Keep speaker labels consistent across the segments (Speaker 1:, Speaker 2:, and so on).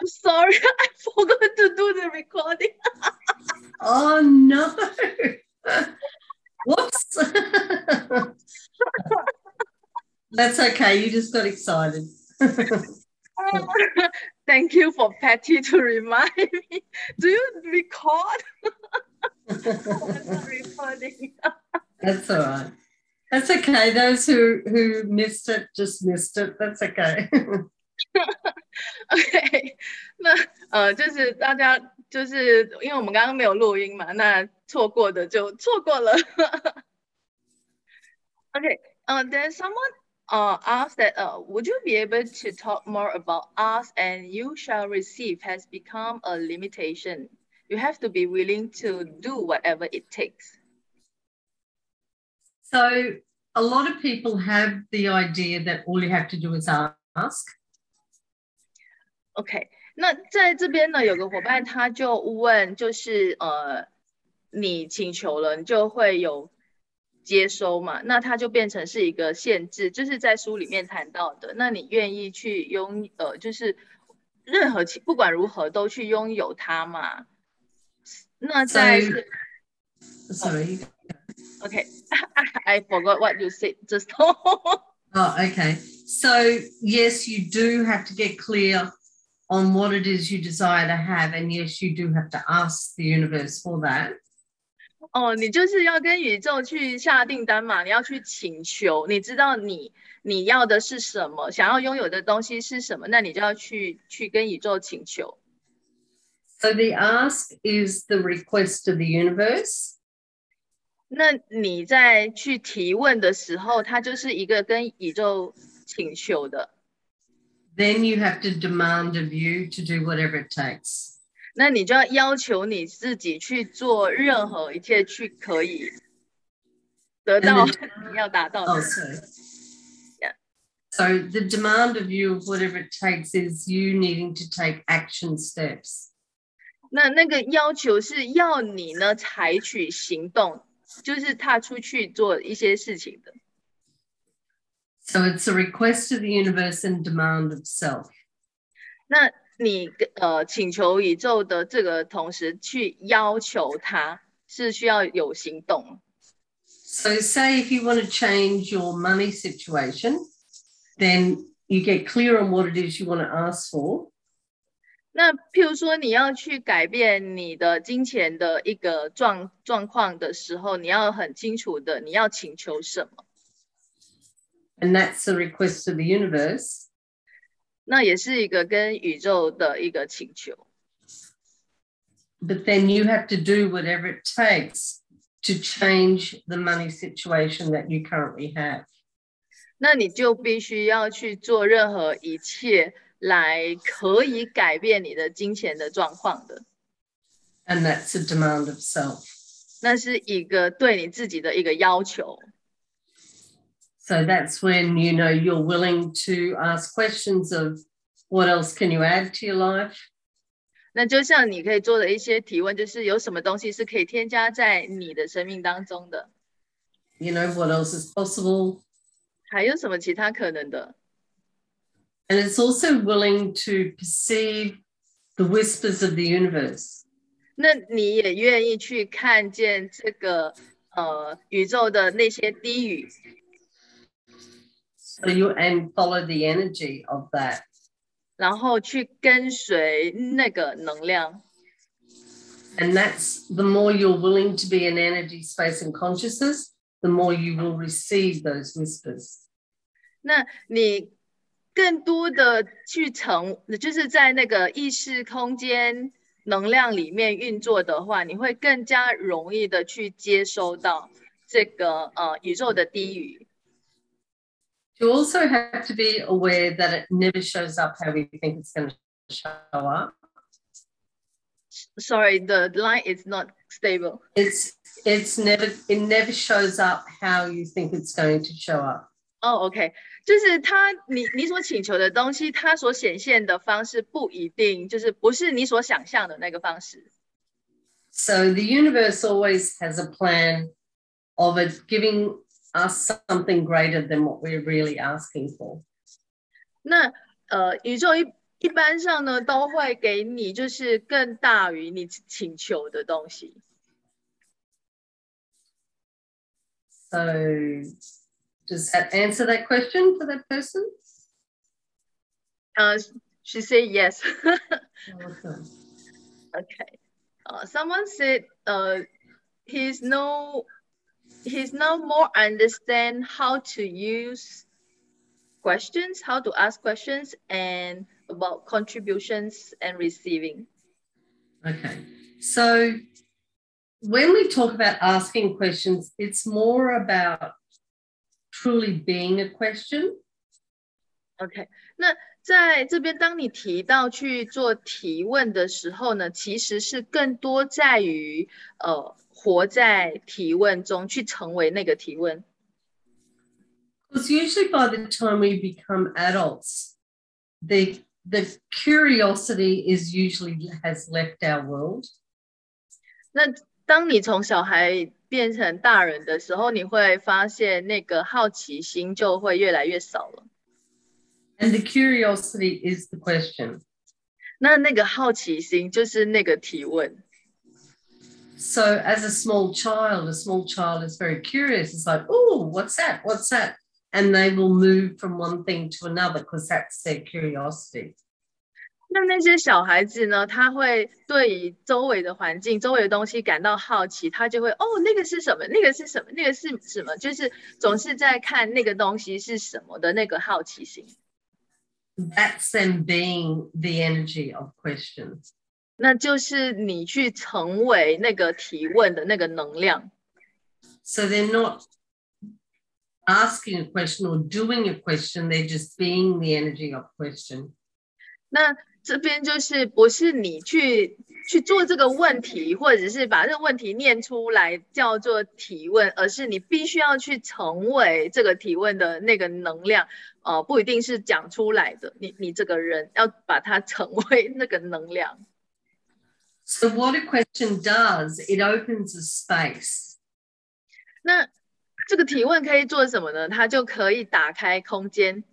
Speaker 1: Sorry, I forgot to do the recording.
Speaker 2: Oh no. Whoops. That's okay. You just got excited.
Speaker 1: Thank you for Patty to remind me. Do you record? I'm not recording.
Speaker 2: That's all right. That's okay. Those who missed it just missed it. That's okay.
Speaker 1: OK，就是大家就是因为我们刚刚没有录音嘛，那错过的就错过了。OK，then someone asked that would you be able to talk more about ask and you shall receive has become a limitation. You have to be willing to do whatever it takes.
Speaker 2: So a lot of people have the idea that all you have to do is ask.
Speaker 1: OK，那在这边呢，有个伙伴他就问，就是你请求了，你就会有接收嘛？那它就变成是一个限制，就是在书里面谈到的。那你愿意去就是任何不管如何都去拥有它嘛？那在
Speaker 2: sorry.
Speaker 1: OK， I forgot what you said just now.
Speaker 2: Oh, okay. So yes, you do have to get clear on what it is you desire to have, and yes, you do have to ask the universe for that.
Speaker 1: 哦，你就是要跟宇宙去下订单嘛，你要去请求，你知道你要的是什么，想要拥有的东西是什么，那你就要去跟宇宙请求。
Speaker 2: So the ask is the request of the universe.
Speaker 1: 那你在去提问的时候，它就是一个跟宇宙请求的。
Speaker 2: Then you have to demand of you to do whatever it takes.
Speaker 1: 那你就要要求你自己去做任何一切，去可以得到你要达到的。
Speaker 2: Oh, sorry. Yeah. So the demand of you of whatever it takes is you needing to take action steps.
Speaker 1: 那个要求是要你呢采取行动，就是踏出去做一些事情的。
Speaker 2: So it's a request of the universe and demand of self.
Speaker 1: 那你请求宇宙的这个同时去要求它，是需要有行动。
Speaker 2: So say if you want to change your money situation, then you get clear on what it is you want to ask for.
Speaker 1: 那譬如说你要去改变你的金钱的一个状况的时候，你要很清楚的你要请求什么。
Speaker 2: And that's the request of the universe.
Speaker 1: 那也是一个跟宇宙的一个请求。
Speaker 2: But then you have to do whatever it takes to change the money situation that you currently have.
Speaker 1: 那你就必须要去做任何一切来可以改变你的金钱的状况的。
Speaker 2: And that's a demand of self.
Speaker 1: 那是一个对你自己的一个要求。
Speaker 2: So that's when you're willing to ask questions of what else can you add to your life?
Speaker 1: 那就像你可以做的一些提问，就是有什么东西是可以添加在你的生命当中的？
Speaker 2: What else is possible?
Speaker 1: 还有什么其他可能的？
Speaker 2: And it's also willing to perceive the whispers of the universe.
Speaker 1: 那你也愿意去看见这个宇宙的那些低语？
Speaker 2: So and follow the energy of that.
Speaker 1: 然后去跟随那个能量。
Speaker 2: And that's the more you're willing to be in energy, space, and consciousness, the more you will receive those whispers.
Speaker 1: 那你更多的去就是在那个意识空间能量里面运作的话，你会更加容易的去接收到这个宇宙的低语。
Speaker 2: You also have to be aware that it never shows up how we think it's going to show up.
Speaker 1: Sorry, the line is not stable.
Speaker 2: It never shows up how you think it's going to show up.
Speaker 1: Oh, OK， 就是你所请求的东西，它所显现的方式不一定，就是不是你所想象的那个方式。
Speaker 2: So the universe always has a plan of it giving us something greater than what we're really asking for.
Speaker 1: 那宇宙一般上呢都会给你就是更大于你请求的东西。
Speaker 2: So does that answer that question for that person?
Speaker 1: She said yes.
Speaker 2: Awesome.
Speaker 1: Okay. Someone said he's no more understand how to use questions, how to ask questions, and about contributions and receiving.
Speaker 2: Okay. So when we talk about asking questions, it's more about truly being a question.
Speaker 1: OK， 那在这边，当你提到去做提问的时候呢，其实是更多在于活在提问中，去成为那个提问。
Speaker 2: Because usually by the time we become adults, the curiosity is usually has left our world.
Speaker 1: 那当你从小孩变成大人的时候，你会发现那个好奇心就会越来越少了。
Speaker 2: And the curiosity is the question.
Speaker 1: 那个好奇心就是那个提问。
Speaker 2: So as a small child is very curious. It's like, oh, what's that? What's that? And they will move from one thing to another because that's their curiosity.
Speaker 1: 那些小孩子呢，他会对于周围的环境、周围的东西感到好奇，他就会哦，那个是什么？那个是什么？那个是什么？就是总是在看那个东西是什么的那个好奇心。
Speaker 2: That's them being the energy of questions.
Speaker 1: 那就是你去成为那个提问的那个能量。
Speaker 2: So they're not asking a question or doing a question, they're just being the energy of question.
Speaker 1: 那这边就是不是你去做这个问题，或者是把这个问题念出来叫做提问，而是你必须要去成为这个提问的那个能量，不一定是讲出来的，你这个人要把它成为那个能量。
Speaker 2: So what a question does, it opens a space.
Speaker 1: 那这个提问可以做什么呢？它就可以打开空间。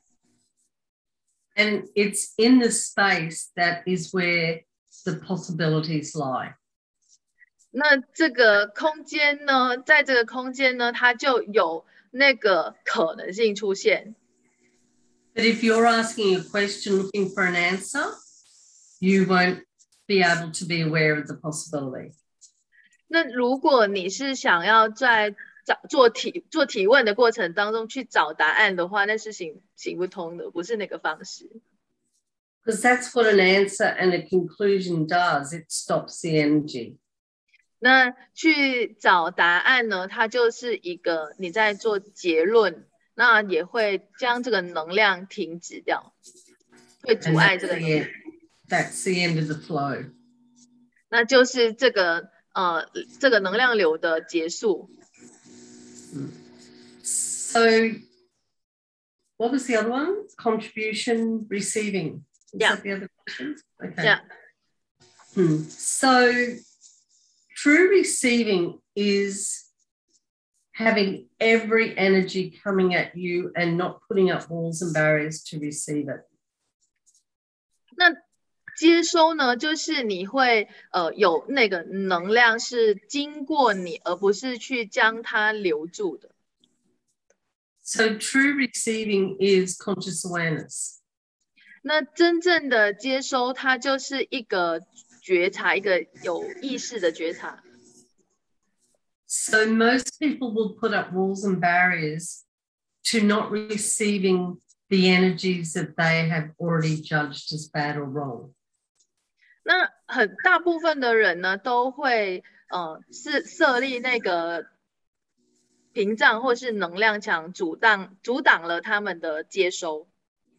Speaker 2: And it's in the space that is where the possibilities lie.
Speaker 1: 那这个空间呢，在这个空间呢，它就有那个可能性出现。
Speaker 2: But if you're asking a question looking for an answer, you won't be able to be aware of the possibility.
Speaker 1: 那如果你是想要在做提问的过程当中去找答案的话，那是行不通的，不是那个方式。
Speaker 2: Because that's what an answer and a conclusion does. It stops the energy.
Speaker 1: 那去找答案呢，它就是一个你在做结论，那也会将这个能量停止掉，会阻碍这个能量。
Speaker 2: That's the end of the flow.
Speaker 1: 那就是这个能量流的结束。
Speaker 2: So what was the other one? Contribution, receiving. Is that the other question? Okay.
Speaker 1: Yeah.
Speaker 2: So true receiving is having every energy coming at you and not putting up walls and barriers to receive it.
Speaker 1: 那接收呢，就是你会有那个能量是经过你，而不是去将它留住的。
Speaker 2: So true receiving is conscious awareness.
Speaker 1: 那真正的接收，它就是一个觉察，一个有意识的觉察。
Speaker 2: So most people will put up walls and barriers to not receiving the energies that they have already judged as bad or wrong.
Speaker 1: 那很大部分的人呢，都会是设立那个屏障或是能量墙，阻挡了他们的接收。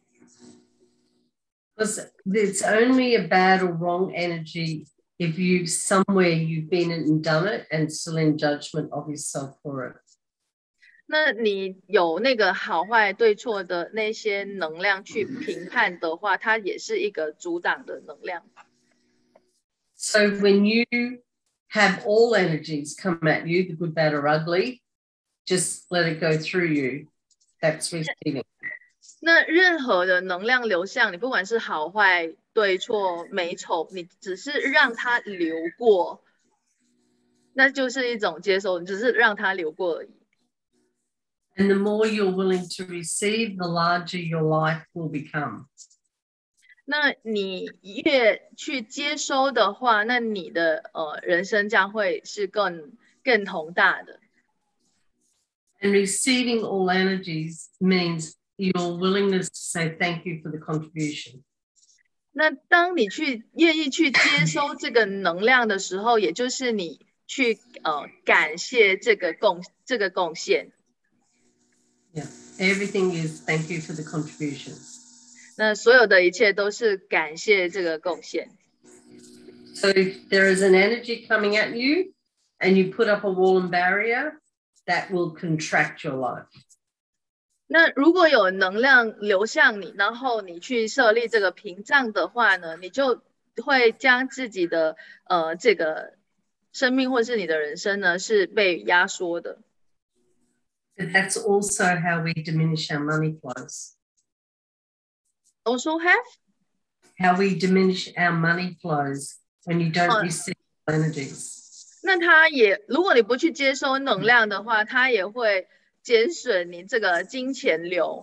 Speaker 2: Because it's only a bad or wrong energy if you've been and done it and still in judgment of yourself for it.
Speaker 1: 那你有那个好坏对错的那些能量去评判的话，它也是一个阻挡的能量。
Speaker 2: So when you have all energies come at you, the good, bad, or ugly, just let it go through you. That's receiving.
Speaker 1: 那任何的能量流向，你不管是好坏、对错、美丑，你只是让它流过，那就是一种接受，你只是让它流过而已。
Speaker 2: And the more you're willing to receive, the larger your life will become.
Speaker 1: 那你越去接收的话，那你的人生将会是更宏大的。
Speaker 2: And receiving all energies means your willingness to say thank you for the contribution.
Speaker 1: 那当你愿意去接收这个能量的时候，也就是你去感谢这个贡献。
Speaker 2: Yeah, everything is thank you for the contribution.
Speaker 1: 那所有的一切都是感谢这个贡献。
Speaker 2: So if there is an energy coming at you and you put up a wall and barrier, that will contract your life.
Speaker 1: 那如果有能量流向你，然后你去设立这个屏障的话呢，你就会将自己的这个生命或是你的人生呢是被压缩的。
Speaker 2: But that's also how we diminish our money flows.
Speaker 1: Also have
Speaker 2: How we diminish our money flows when you don't receive energies.
Speaker 1: 那它也，如果你不去接收能量的话，它也会减损你这个金钱流。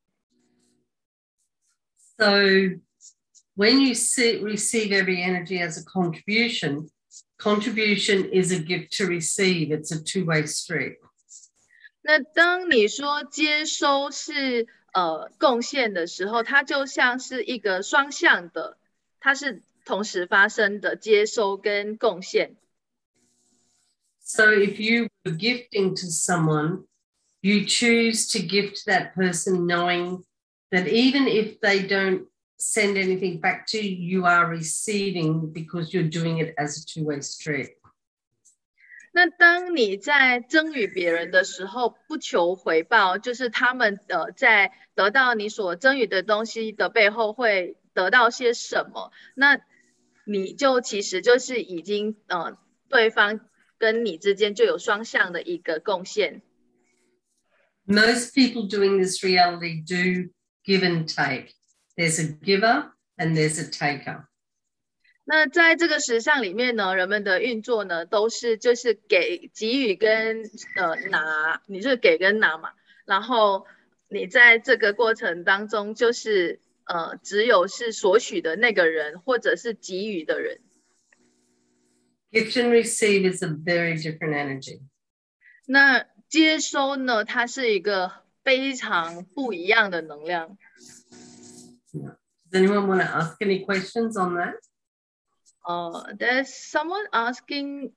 Speaker 2: So when you receive every energy as a contribution, contribution is a gift to receive. It's a two-way street.
Speaker 1: 那当你说接收是贡献的时候，它就像是一个双向的，它是同时发生的接收跟贡献。
Speaker 2: So if you were gifting to someone, you choose to gift that person knowing that even if they don't send anything back to you, you are receiving because you're doing it as a two-way street.
Speaker 1: 那当你在赠予别人的时候，不求回报，就是他们在得到你所赠予的东西的背后会得到些什么？那你就其实就是已经对方跟你之间就有双向的一个贡献。
Speaker 2: Most people doing this reality do give and take. There's a giver and there's a taker.
Speaker 1: 那在这个实相里面呢，人们的运作呢，都是就是给予跟拿，你是给跟拿嘛。然后你在这个过程当中，就是只有是索取的那个人，或者是给予的人。
Speaker 2: Gift and receive is a very different energy.
Speaker 1: 那接收呢，它是一个非常不一样的能量。
Speaker 2: Does anyone want to ask any questions on that?
Speaker 1: There's someone asking.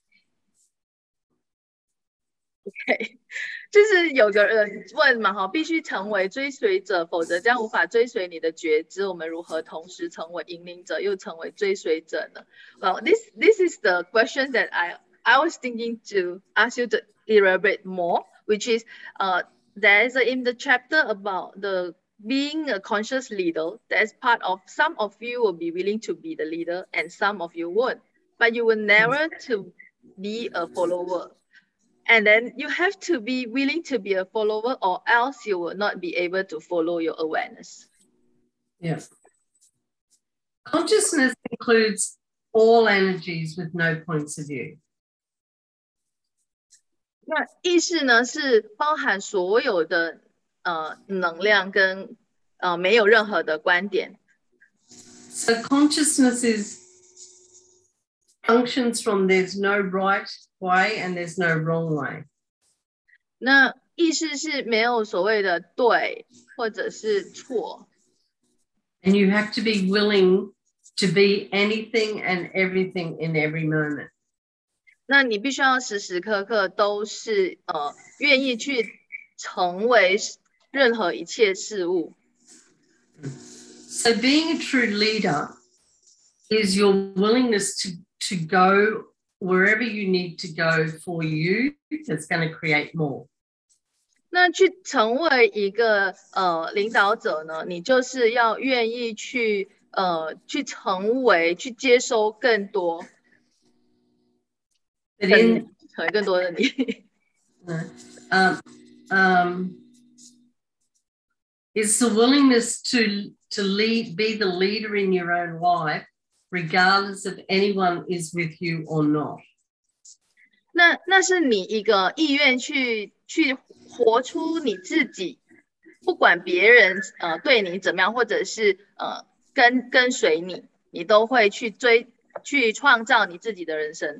Speaker 1: OK，就是有个人问嘛，哈，必须成为追随者，否则将无法追随你的觉知。我们如何同时成为引领者，又成为追随者呢？Well, this is the question that I was thinking to ask you to elaborate more, which is there is in the chapter about the being a conscious leader. There's part of some of you will be willing to be the leader, and some of you won't, but you will never to be a follower. And then you have to be willing to be a follower, or else you will not be able to follow your awareness.
Speaker 2: Yes. Consciousness includes all energies with no points of view.
Speaker 1: 那意识呢，是包含所有的能量跟没有任何的观点。
Speaker 2: So consciousness functions from there's no right way and there's no wrong way.
Speaker 1: 那意识是没有所谓的对或者是错。
Speaker 2: And you have to be willing to be anything and everything in every moment.
Speaker 1: 那你必须要时时刻刻都是愿意去成为任何一切事物。
Speaker 2: So being a true leader is your willingness to go wherever you need to go for you that's going to create more.
Speaker 1: 那去成为一个领导者呢，你就是要愿意去成为去接收更多，成为更多的你。
Speaker 2: It's the willingness to lead, be the leader in your own life, regardless of anyone is with you or not.
Speaker 1: 那是你一个意愿去活出你自己，不管别人对你怎么样，或者是跟随你，你都会去创造你自己的人生。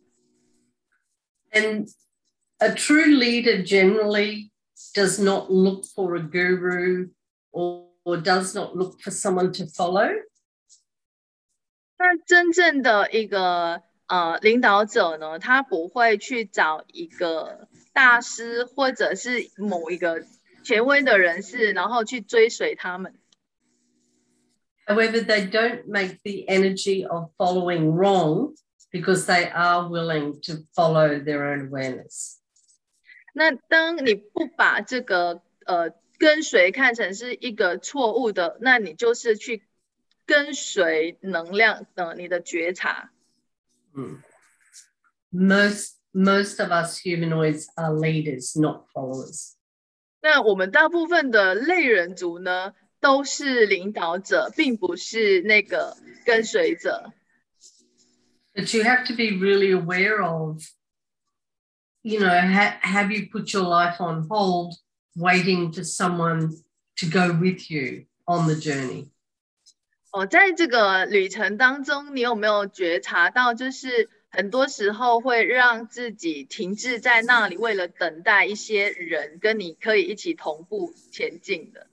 Speaker 2: And a true leader generally does not look for a guru or does not look for someone to follow.
Speaker 1: 那真正的一个领导者呢，他不会去找一个大师或者是某一个权威的人士，然后去追随他们。
Speaker 2: However, they don't make the energy of following wrong because they are willing to follow their own awareness.
Speaker 1: 那当你不把这个跟随看成是一个错误的，那你就是去跟随能量你的觉察。
Speaker 2: Most of us humanoids are leaders, not followers.
Speaker 1: 那我们大部分的类人族呢，都是领导者，并不是那个跟随者。
Speaker 2: But you have to be really aware of, you know, have you put your life on hold waiting for someone to go with you on the journey?
Speaker 1: 在这个旅程当中，你有没有觉察到，就是很多时候会让自己停滞在那里，为了等待一些人跟你可以一起同步前进的。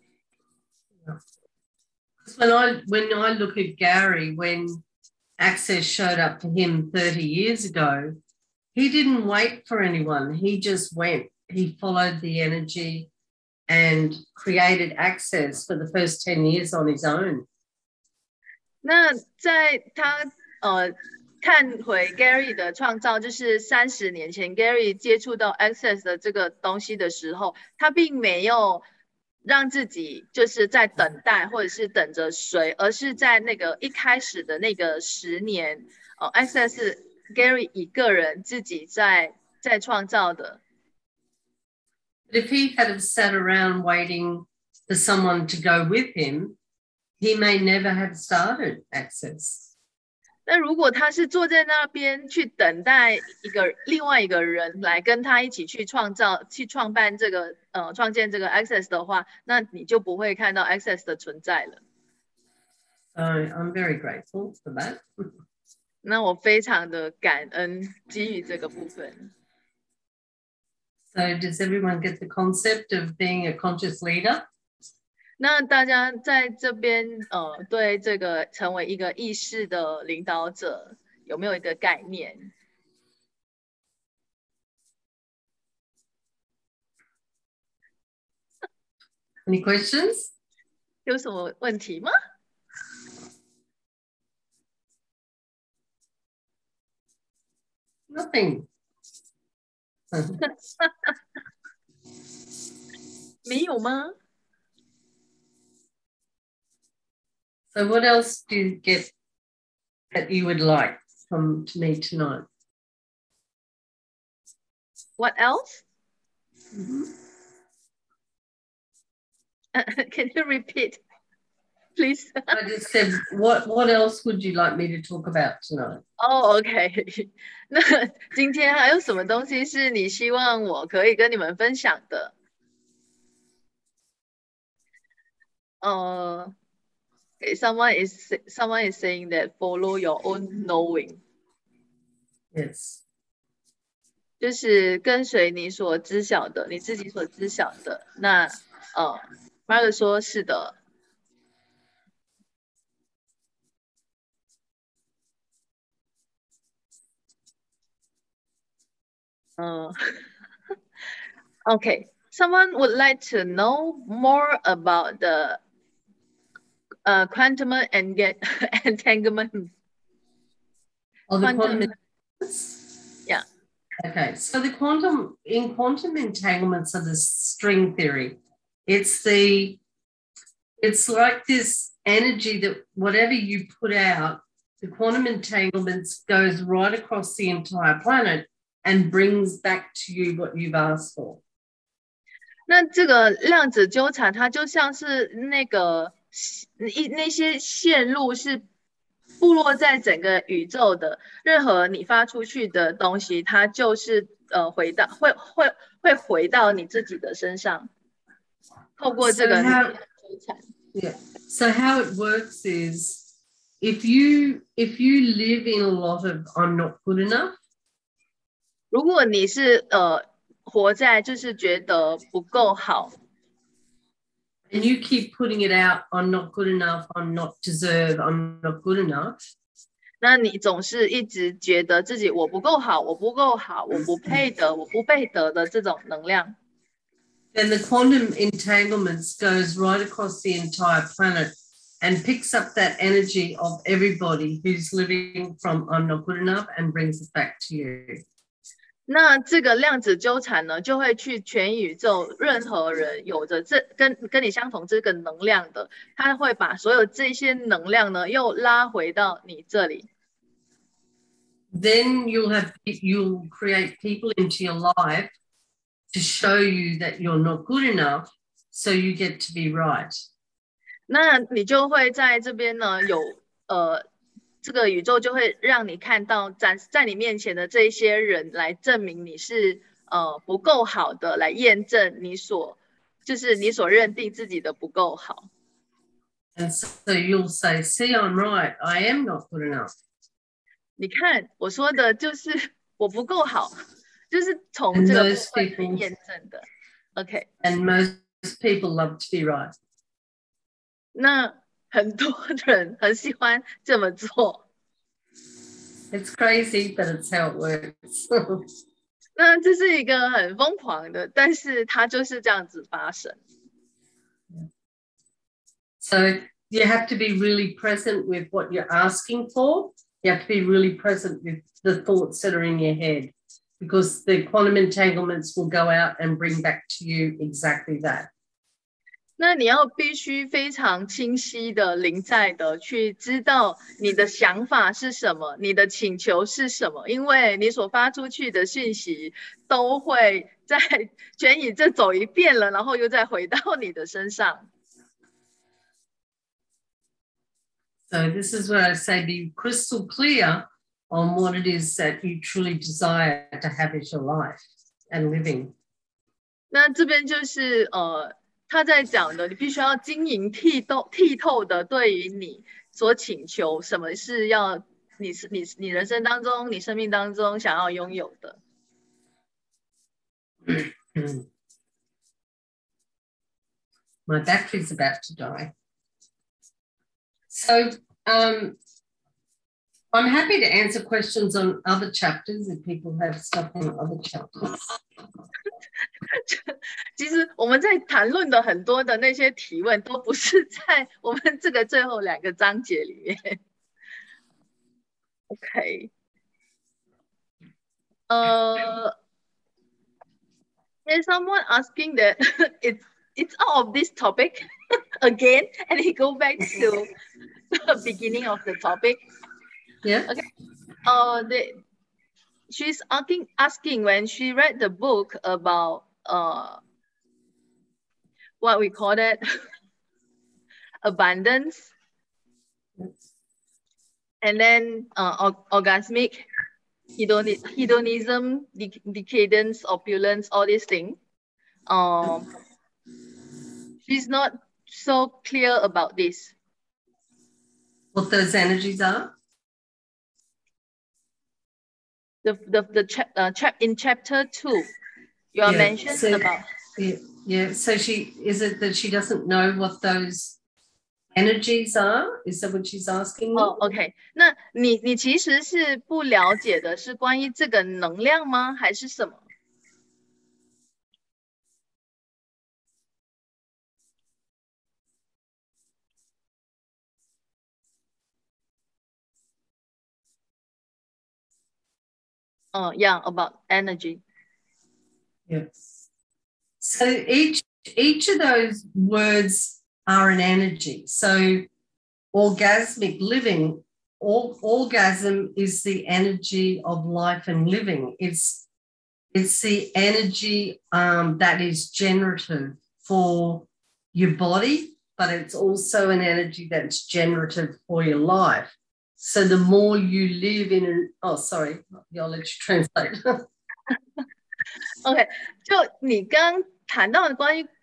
Speaker 2: When I look at Gary, when Access showed up for him 30 years ago, he didn't wait for anyone. He just went. He followed the energy and created Access for the first 10 years on his own.
Speaker 1: 那在他看回 Gary 的创造，就是30年前 Gary 接触到 Access 的这个东西的时候，他并没有让自己就是在等待或者是等着谁，而是在那个一开始的那个10年，Access 是 Gary 一个人自己在创造的。
Speaker 2: But if he had sat around waiting for someone to go with him, he may never have started Access.
Speaker 1: 那如果他是坐在那边去等待另外一个人来跟他一起去创办这个创建这个 Access 的话，那你就不会看到 Access 的存在了。
Speaker 2: So I'm very grateful for that.
Speaker 1: 那我非常的感恩基于这个部分。
Speaker 2: So does everyone get the concept of being a conscious leader?
Speaker 1: 那大家在这边对这个成为一个意识的领导者有没有一个概念？
Speaker 2: Any questions?
Speaker 1: 有什么问题吗？
Speaker 2: Nothing.
Speaker 1: 没有吗？
Speaker 2: So what else do you get that you would like from me tonight?
Speaker 1: What else? Can you repeat, please?
Speaker 2: I just said, what else would you like me to talk about tonight?
Speaker 1: Oh, OK 那今天还有什么东西是你希望我可以跟你们分享的？Okay, someone is saying that follow your own knowing.
Speaker 2: Yes.
Speaker 1: 就是跟随你所知晓的，你自己所知晓的。那Margaret 说是的。Okay, someone would like to know more about the quantum entanglement.
Speaker 2: Oh, the quantum.
Speaker 1: Yeah.
Speaker 2: Okay, so the quantum entanglements are the string theory. It's like this energy that whatever you put out, the quantum entanglements goes right across the entire planet and brings back to you what you've asked for.
Speaker 1: 那这个量子纠缠，它就像是那些线路是布落在整个宇宙的，任何你发出去的东西，它就是会回到你自己的身上，透过这个纠缠。
Speaker 2: Yeah. So how it works is if you live in a lot of I'm not good enough.
Speaker 1: 如果你是活在就是觉得不够好。
Speaker 2: And you keep putting it out, I'm not good enough, I'm not deserve, I'm not good enough.
Speaker 1: 那你总是一直觉得自己我不够好，我不够好，我不配得，我不配得的这种能量。
Speaker 2: Then the quantum entanglements goes right across the entire planet and picks up that energy of everybody who's living from I'm not good enough and brings it back to you.
Speaker 1: 那这个量子纠缠呢，就会去全宇宙任何人有着跟你相同这个能量的，他会把所有这些能量呢，又拉回到你这里。
Speaker 2: Then you'll create people into your life to show you that you're not good enough, so you get to be right.
Speaker 1: 那你就会在这边呢，这个宇宙就会让你看到在你面前的这一些人来证明你是不够好的，来验证就是你所认定自己的不够好。
Speaker 2: And so you'll say, see, I'm right. I am not good enough.
Speaker 1: 你看我说的就是我不够好，就是从这个部分去验证的。OK。
Speaker 2: And most people love to be right.
Speaker 1: 那很多人很喜欢这么做。
Speaker 2: It's crazy, but it's how it works.
Speaker 1: 那这是一个很疯狂的，但是它就是这样子发生。
Speaker 2: So you have to be really present with what you're asking for. You have to be really present with the thoughts that are in your head, because the quantum entanglements will go out and bring back to you exactly that.
Speaker 1: 那你要必须非常清晰的临在的去知道你的想法是什么，你的请求是什么，因为你所发出去的讯息都会在全宇宙走一遍了，然后又再回到你的身上。
Speaker 2: So this is where I say be crystal clear on what it is that you truly desire to have as your life and living.
Speaker 1: 那这边就是他在讲的，你必须要晶莹剔透的对于你所请求什么是要你人生当中你生命当中想要拥有的。
Speaker 2: My battery's about to die. So I'm happy to answer questions on other chapters if people have stuff on other chapters.
Speaker 1: 其实我们在谈论的很多的那些提问都不是在我们这个最后2个章节里面。OK。There's someone asking that it's out of this topic again, and he go back to the beginning of the topic.
Speaker 2: Yeah.
Speaker 1: Okay. She's asking when she read the book about what we call it abundance, and then orgasmic, hedonism, decadence, opulence, all these things. She's not so clear about this.
Speaker 2: What those energies are?
Speaker 1: In chapter 2, you are mentioned about.
Speaker 2: Yeah. So is it that she doesn't know what those energies are? Is that what she's asking?
Speaker 1: OK. 那你其实是不了解的是关于这个能量吗？还是什么？Yeah, about energy.
Speaker 2: Yes. So each of those words are an energy. So orgasmic living, orgasm is the energy of life and living. It's It's the energy that is generative for your body, but it's also an energy that's generative for your life. So the more you live in I'll let you translate.
Speaker 1: OK，就你刚谈到的关于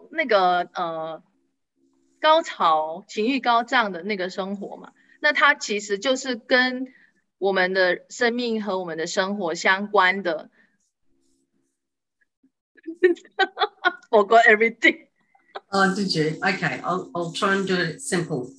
Speaker 1: 高潮、情欲高涨的那个生活嘛，那它其实就是跟我们的生命和我们的生活相关的。Forgot everything.
Speaker 2: Oh, did you? Okay, I'll try and do it simple.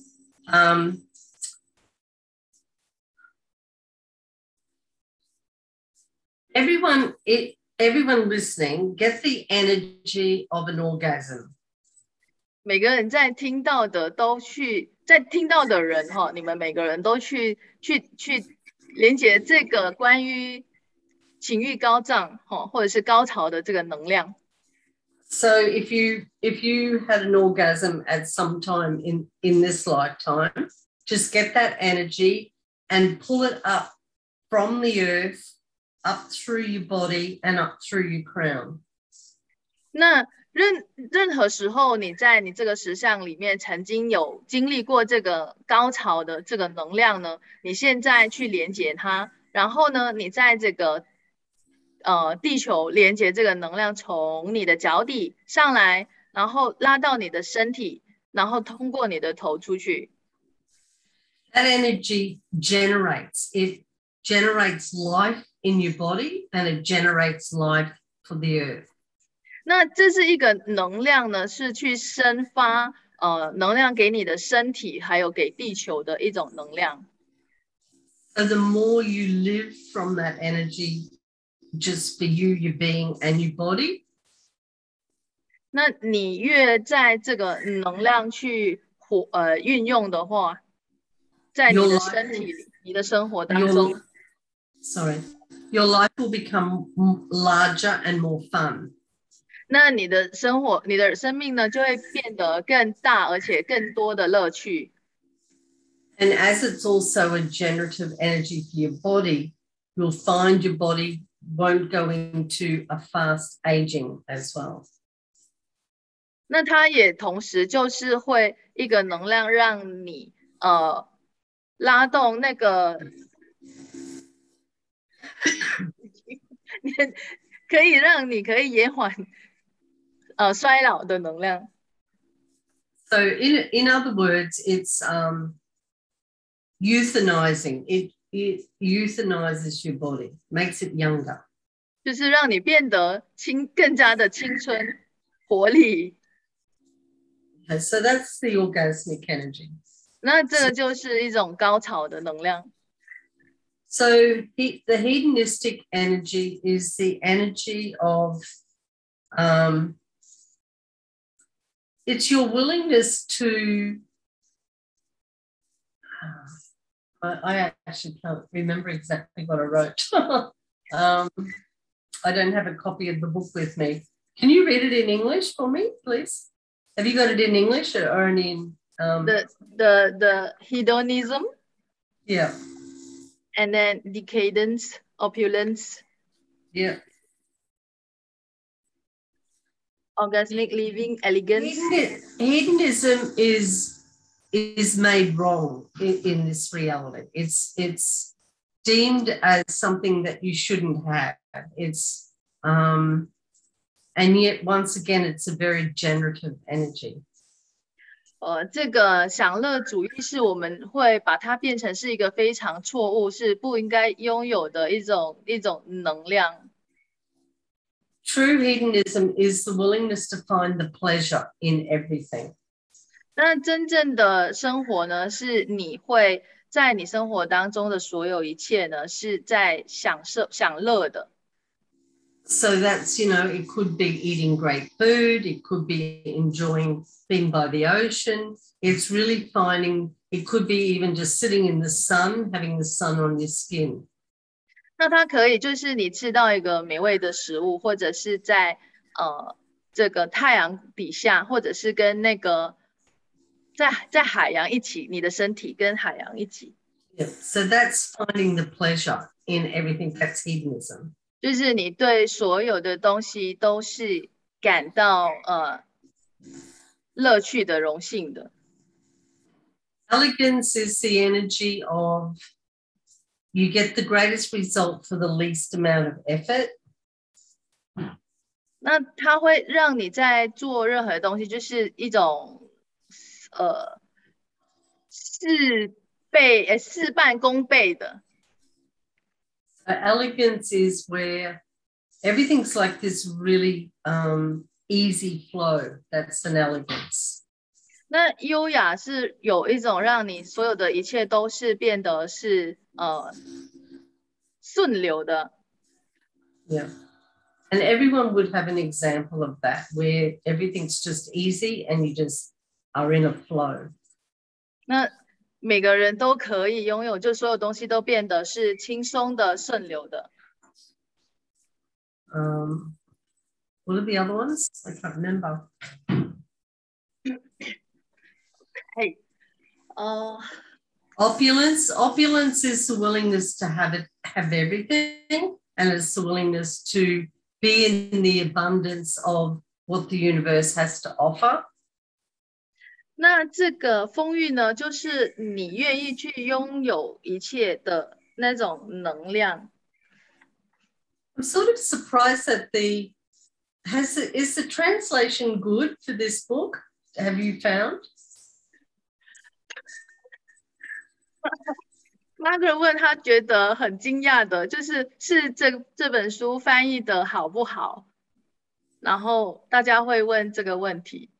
Speaker 2: Everyone listening, get the energy of an orgasm.
Speaker 1: 每个人在听到的人哈，你们每个人都去连接这个关于情欲高涨哈，或者是高潮的这个能量。
Speaker 2: So if you had an orgasm at some time in this lifetime, just get that energy and pull it up from the earth, up through your body and up through your crown.
Speaker 1: 那任何时候你在你这个实相里面曾经有经历过这个高潮的这个能量呢，你现在去连接它，然后呢，你在这个地球连接这个能量从你的脚底上来，然后拉到你的身体，然后通过你的头出去。
Speaker 2: That energy generates life in your body and it generates life for the earth.
Speaker 1: 那这是一个能量呢，是去生发能量给你的身体，还有给地球的一种能量。
Speaker 2: So the more you live from that energy, just for you, your being and your body.
Speaker 1: 那你越在这个能量去运用的话，在你的身体里、你的生活当中
Speaker 2: your life will become larger and more fun.
Speaker 1: 那你的生命呢，就会变得更大，而且更多的乐趣。
Speaker 2: And as it's also a generative energy for your body, you'll find your body won't go into a fast aging as well.
Speaker 1: 那它也同时就是会一个能量，让你拉动那个可以让你可以延缓衰老的能量。
Speaker 2: So in other words, it's euthanizing. It euthanizes your body, makes it younger.
Speaker 1: 就是让你变得更加的青春活力。
Speaker 2: Okay, so that's the orgasmic energy.
Speaker 1: 那这个就是一种高潮的能量。
Speaker 2: So the hedonistic energy is the energy of it's your willingness to I actually can't remember exactly what I wrote. I don't have a copy of the book with me. Can you read it in English for me, please? Have you got it in English or in
Speaker 1: the hedonism?
Speaker 2: Yeah.
Speaker 1: And then decadence, opulence.
Speaker 2: Yeah.
Speaker 1: Orgasmic living, elegance.
Speaker 2: Hedonism is made wrong in this reality. It's deemed as something that you shouldn't have. It's and yet once again it's a very generative energy.
Speaker 1: 这个享乐主义是我们会把它变成是一个非常错误，是不应该拥有的一种能量。
Speaker 2: True hedonism is the willingness to find the pleasure in everything.
Speaker 1: 那真正的生活呢，是你会在你生活当中的所有一切呢，是在享乐的。
Speaker 2: So that's, it could be eating great food. It could be enjoying being by the ocean. It's really it could be even just sitting in the sun, having the sun on your skin.
Speaker 1: 那它可以就是你吃到一个美味的食物，或者是在这个太阳底下，或者是跟那个在海洋一起，你的身体跟海洋一起。
Speaker 2: Yeah. So that's finding the pleasure in everything. That's hedonism.
Speaker 1: 就是你对所有的东西都是感到乐趣的、荣幸的。
Speaker 2: Elegance is the energy of you get the greatest result for the least amount of effort.
Speaker 1: 那它会让你在做任何东西，就是一种事半功倍的。
Speaker 2: So elegance is where everything's like this really easy flow. That's an elegance.
Speaker 1: 那优雅是有一种让你所有的一切都是变得是顺流的。
Speaker 2: Yeah. And everyone would have an example of that where everything's just easy and you just are in a flow.
Speaker 1: 那每个人都可以拥有，就所有东西都变得是轻松的、顺流的。
Speaker 2: What are the other ones? I can't remember.
Speaker 1: Hey,
Speaker 2: Opulence is the willingness to have everything, and it's the willingness to be in the abundance of what the universe has to offer.
Speaker 1: 那这个丰裕呢，就是你愿意去拥有一切的那种能量。
Speaker 2: I'm sort of surprised that is the translation good for this book? Have you found?
Speaker 1: Margaret 问他觉得很惊讶的，是这本书翻译的好不好？然后大家会问这个问题。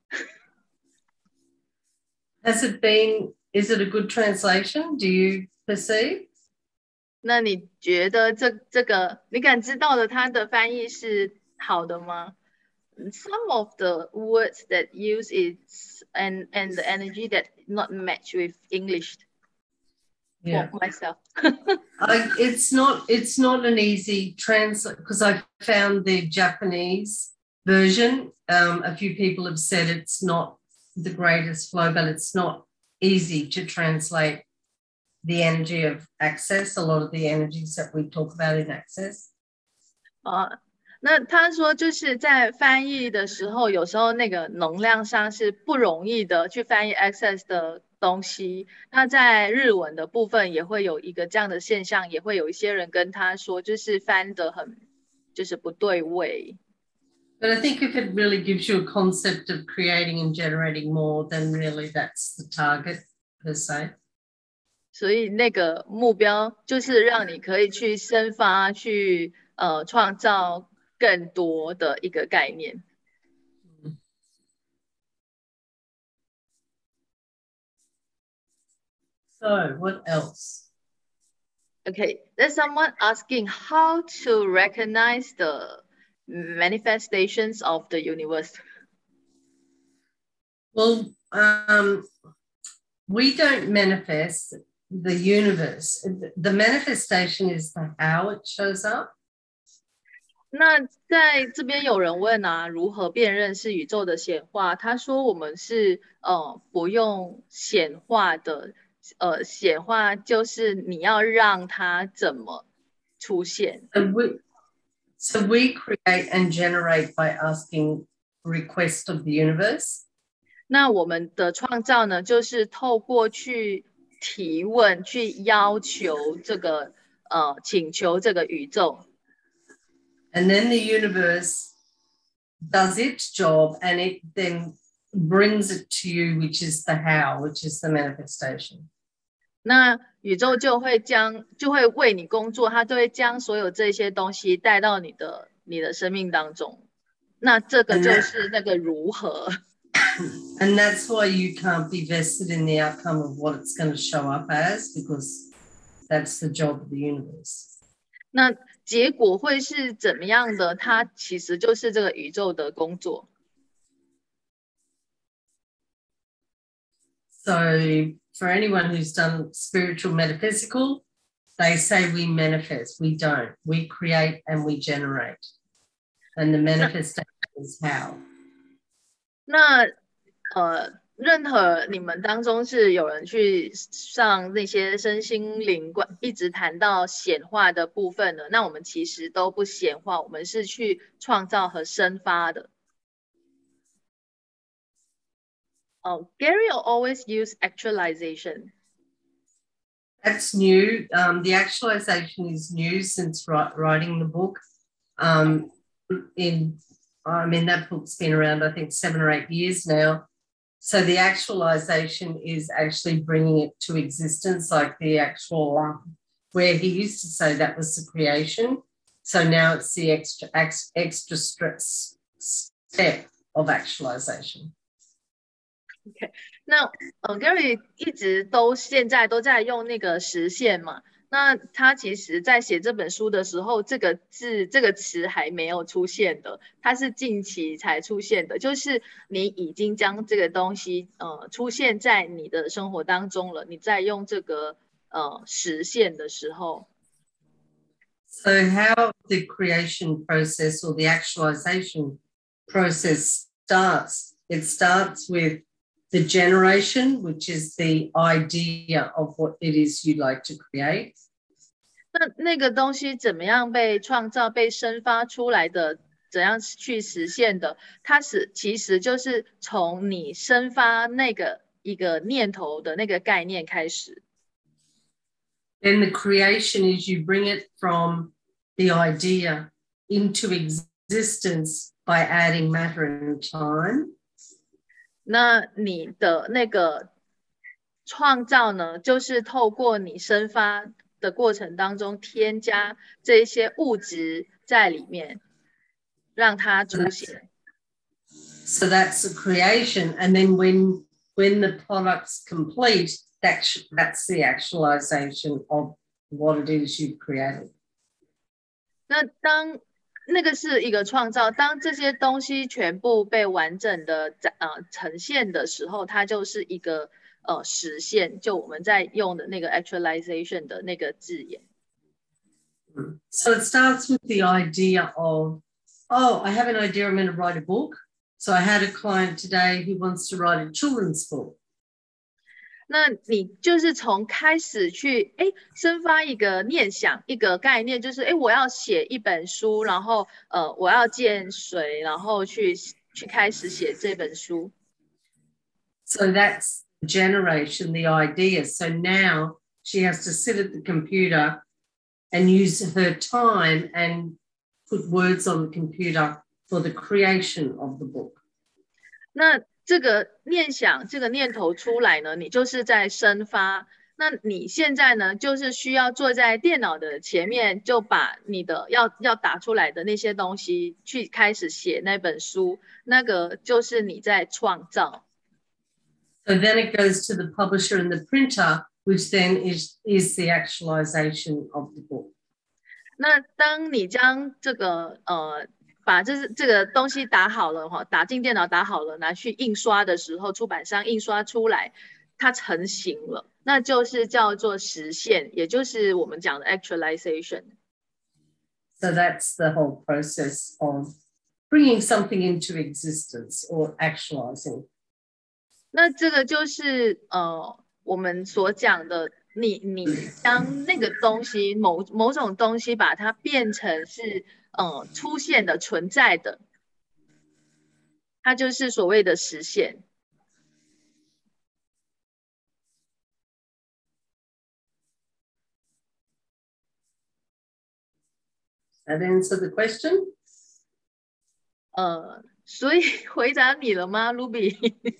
Speaker 2: Is it a good translation? Do you perceive?
Speaker 1: 那你觉得这个你感知到的它的翻译是好的吗？Some of the words that use is and the energy that not match with English.
Speaker 2: Yeah.
Speaker 1: For myself.
Speaker 2: It's not an easy translate because I found the Japanese version. A few people have said it's not the greatest flow, but it's not easy to translate the energy of access, a lot of the energies that we talk about in access.
Speaker 1: 那他说就是在翻译的时候，有时候那个能量上是不容易的去翻译 access 的东西。那在日文的部分也会有一个这样的现象，也会有一些人跟他说，就是翻得很就是不对位。
Speaker 2: But I think if it really gives you a concept of creating and generating more, then really that's the target per se.
Speaker 1: 所以那个目标就是让你可以去生发，去创造更多的一个概念。
Speaker 2: So what else?
Speaker 1: Okay, there's someone asking how to recognize the manifestations of the universe.
Speaker 2: Well, we don't manifest the universe. The manifestation is the how it shows up.
Speaker 1: 那在这边有人问啊，如何辨认是宇宙的显化？他说我们是不用显化的，显化就是你要让它怎么出现。
Speaker 2: So we create and generate by asking request of the universe.
Speaker 1: 那我们的创造呢，就是透过去提问、去要求这个请求这个宇宙。
Speaker 2: And then the universe does its job and it then brings it to you, which is the how, which is the manifestation.
Speaker 1: 那宇宙就会为你工作，它就会将所有这些东西带到你的生命当中。那这个就是那个如何。
Speaker 2: And that's why you can't be vested in the outcome of what it's going to show up as, because that's the job of the universe.
Speaker 1: 那结果会是怎么样的？它其实就是这个宇宙的工作。
Speaker 2: So for anyone who's done spiritual metaphysical, they say we manifest. We don't. We create and we generate. And the manifestation is how.
Speaker 1: 那任何你们当中是有人去上那些身心灵观，一直谈到显化的部分呢，那我们其实都不显化，我们是去创造和生发的。Gary always use actualization.
Speaker 2: That's new. The actualization is new since writing the book. That book's been around, I think, 7 or 8 years now. So the actualization is actually bringing it to existence, like the actual, where he used to say that was the creation. So now it's the extra step of actualization.
Speaker 1: OK， 那Gary 一直都现在都在用那个实现嘛，那他其实在写这本书的时候，这个词还没有出现的，它是近期才出现的，就是你已经将这个东西出现在你的生活当中了，你在用这个实现的时候。
Speaker 2: So how the creation process or the actualization process starts, it starts with the generation, which is the idea of what it is you'd like to create.
Speaker 1: 那个东西怎么样被创造、被生发出来的？怎样去实现的？它其实就是从你生发那个一个念头的那个概念开始。
Speaker 2: Then the creation is you bring it from the idea into existence by adding matter and time.
Speaker 1: 那你的那个创造呢，就是透过你生发的过程当中添加这些物质在里面，让它出现。
Speaker 2: So that's the creation, and then when the product's complete, that's the actualization of what it is you've created.
Speaker 1: 那当那个是一个创造，当这些东西全部被完整的呈现的时候，它就是一个实现，就我们在用的那个 actualization 的那个字眼。
Speaker 2: So it starts with the idea of, oh, I have an idea, I'm going to write a book. So I had a client today who wants to write a children's book.
Speaker 1: 那你就是从开始去生发一个念想，一个概念，就是我要写一本书，然后我要见谁，然后去开始写这本书。
Speaker 2: So that's generation, the idea. So now she has to sit at the computer and use her time and put words on the computer for the creation of the book.
Speaker 1: 那这个念想，这个念头出来呢，你就是在生发。那你现在呢，就是需要坐在电脑的前面，就把你的要打出来的那些东西去开始写那本书，那个就是你在创造。
Speaker 2: So then it goes to the publisher and the printer, which then is the actualization of the book.
Speaker 1: 那当你将这个把这个东西打好了哈，打进电脑打好了，拿去印刷的时候，出版商印刷出来，它成型了，那就是叫做实现，也就是我们讲的 actualization。
Speaker 2: So that's the whole process of bringing something into existence or actualizing.
Speaker 1: 那这个就是我们所讲的，你将那个东西某种东西把它变成是出现的存在的，它就是所谓的实现。
Speaker 2: That answer the question?
Speaker 1: 所以回答你了吗 ，Ruby？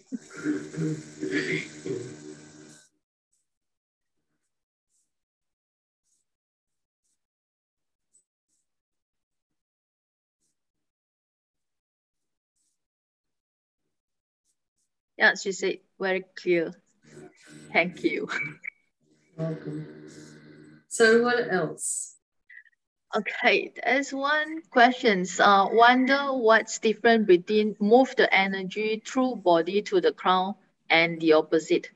Speaker 1: Yeah, she said very clear. Thank you.
Speaker 2: Welcome. So what else?
Speaker 1: Okay, there's one question. Wonder what's different between move the energy through body to the crown and the opposite.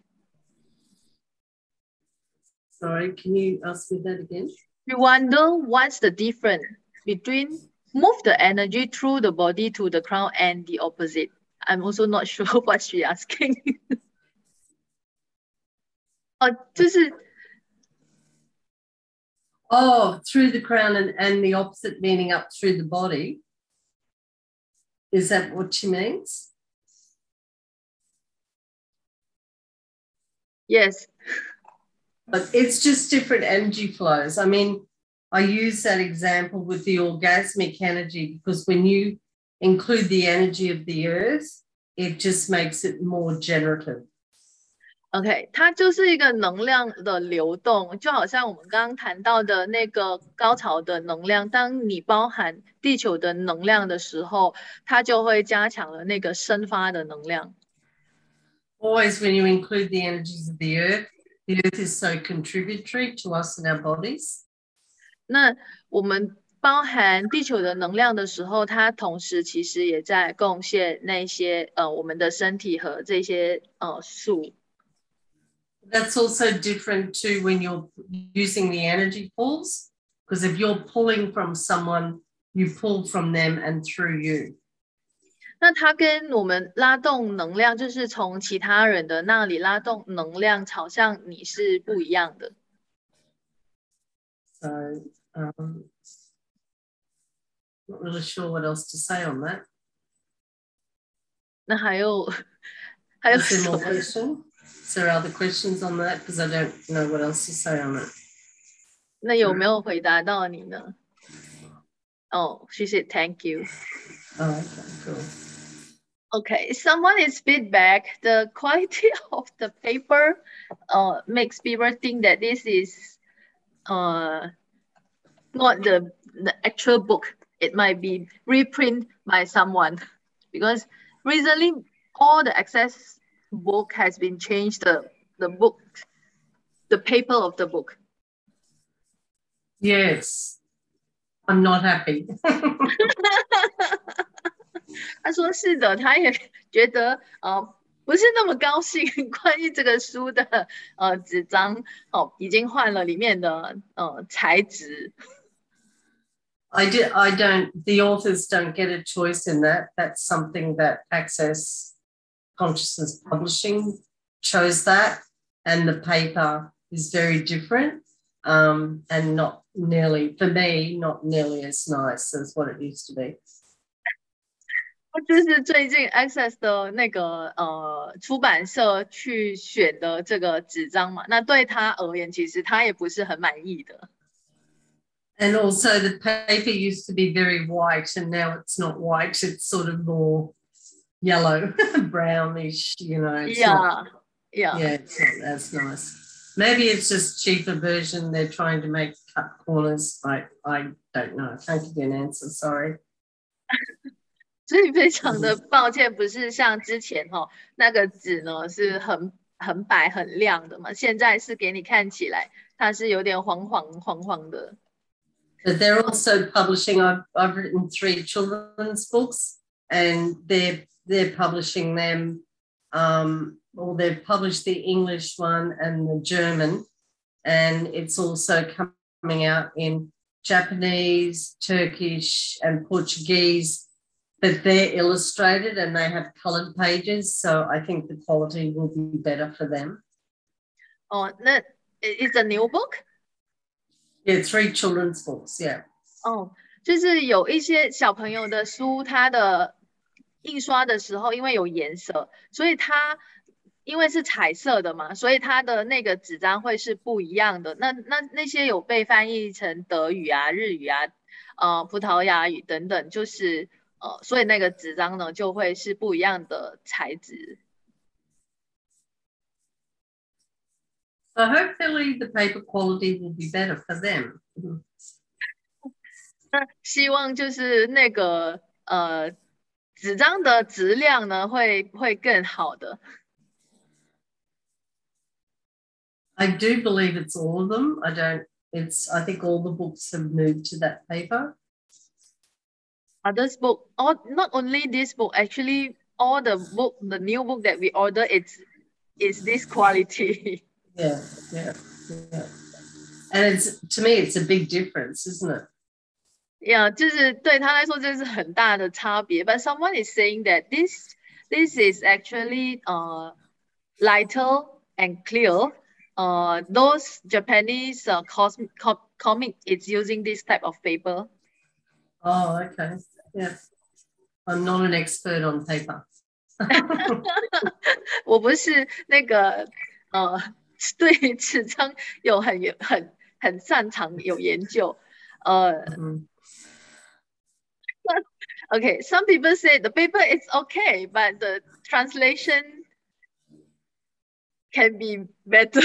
Speaker 2: Sorry, can you ask me that again?
Speaker 1: We wonder what's the difference between move the energy through the body to the crown and the opposite. I'm also not sure what she asking. 哦，就是
Speaker 2: Oh, through the crown and the opposite meaning up through the body. Is that what she means?
Speaker 1: yes.
Speaker 2: But it's just different energy flows. I mean, I use that example with the orgasmic energy because when you include the energy of the earth, it just makes it more generative.
Speaker 1: OK，它就是一个能量的流动，就好像我们刚刚谈到的那个高潮的能量，当你包含地球的能量的时候，它就会加强了那个生发的能量。
Speaker 2: Always when you include the energies of the earth is so contributory to us and our bodies.
Speaker 1: 那我们包含地球的能量的时候，它同时其实也在贡献那些我们的身体和这些树。
Speaker 2: That's also different to when you're using the energy pulls, because if you're pulling from someone, you pull from them and through you.
Speaker 1: 那它跟我们拉动能量，就是从其他人的那里拉动能量朝向你是不一样的。
Speaker 2: So, not really sure what else to say on that.
Speaker 1: 那还有
Speaker 2: Is
Speaker 1: 什
Speaker 2: there
Speaker 1: 么
Speaker 2: more question? Is there other questions on that? Because I don't know what else to say on it.
Speaker 1: 那有没有回答到你呢？哦，she said thank you.
Speaker 2: Oh, okay, cool.
Speaker 1: Okay, someone is feedback. The quality of the paper makes people think that this is not the actual book. It might be reprint by someone because recently all the access book has been changed. The book, the paper of the book.
Speaker 2: Yes, I'm not happy.
Speaker 1: 他说是的，他也觉得不是那么高兴，关于这个书的纸张已经换了里面的材质。
Speaker 2: I don't, the authors don't get a choice in that. That's something that Access Consciousness Publishing chose that. And the paper is very different and not nearly, for me, not nearly as nice as what it used to be.
Speaker 1: 就是最近 Access 的那个出版社去选的这个纸张嘛，那对他而言，其实他也不是很满意的。
Speaker 2: And also the paper used to be very white and now it's not white, it's sort of more yellow, brownish, you know. It's not, it's not as nice. Maybe it's just cheaper version. They're trying to make cut corners. I don't know. I can't give you an answer. Sorry.
Speaker 1: 所以非常的抱歉，不是像之前那个纸呢是很白很亮的嘛，现在是给你看起来它是有点黄黄的。
Speaker 2: But they're also publishing. I've written 3 children's books, and they're publishing them. Or they've published the English one and the German, and it's also coming out in Japanese, Turkish, and Portuguese. But they're illustrated and they have coloured pages, so I think the quality will be better for them.
Speaker 1: 哦，那 is a new book?
Speaker 2: Yeah, 3 children's books, yeah.
Speaker 1: 哦，就是有一些小朋友的书，它的印刷的时候因为有颜色，所以它因为是彩色的嘛，所以它的那个纸张会是不一样的。那些有被翻译成德语啊、日语啊、葡萄牙语等等，就是所以那个纸张呢就会是不一样的材质。
Speaker 2: So hopefully the paper quality will be better for them.
Speaker 1: 那希望就是那个纸张的质量呢会更好的。
Speaker 2: I do believe it's all of them. I think all the books have moved to that paper.
Speaker 1: This book, not only this book, actually all the new book that we order, is this quality.
Speaker 2: Yeah. And to me, it's a big difference, isn't it?
Speaker 1: Yeah, 就是对他来说这是很大的差别。But someone is saying that this this is actually lighter and clear. Those Japanese comic is using this type of paper.
Speaker 2: Oh, okay. Yeah. I'm not an expert on paper.
Speaker 1: 我不是那个对纸张有很擅长有研究。Okay, some people say the paper is okay, but the translation can be better.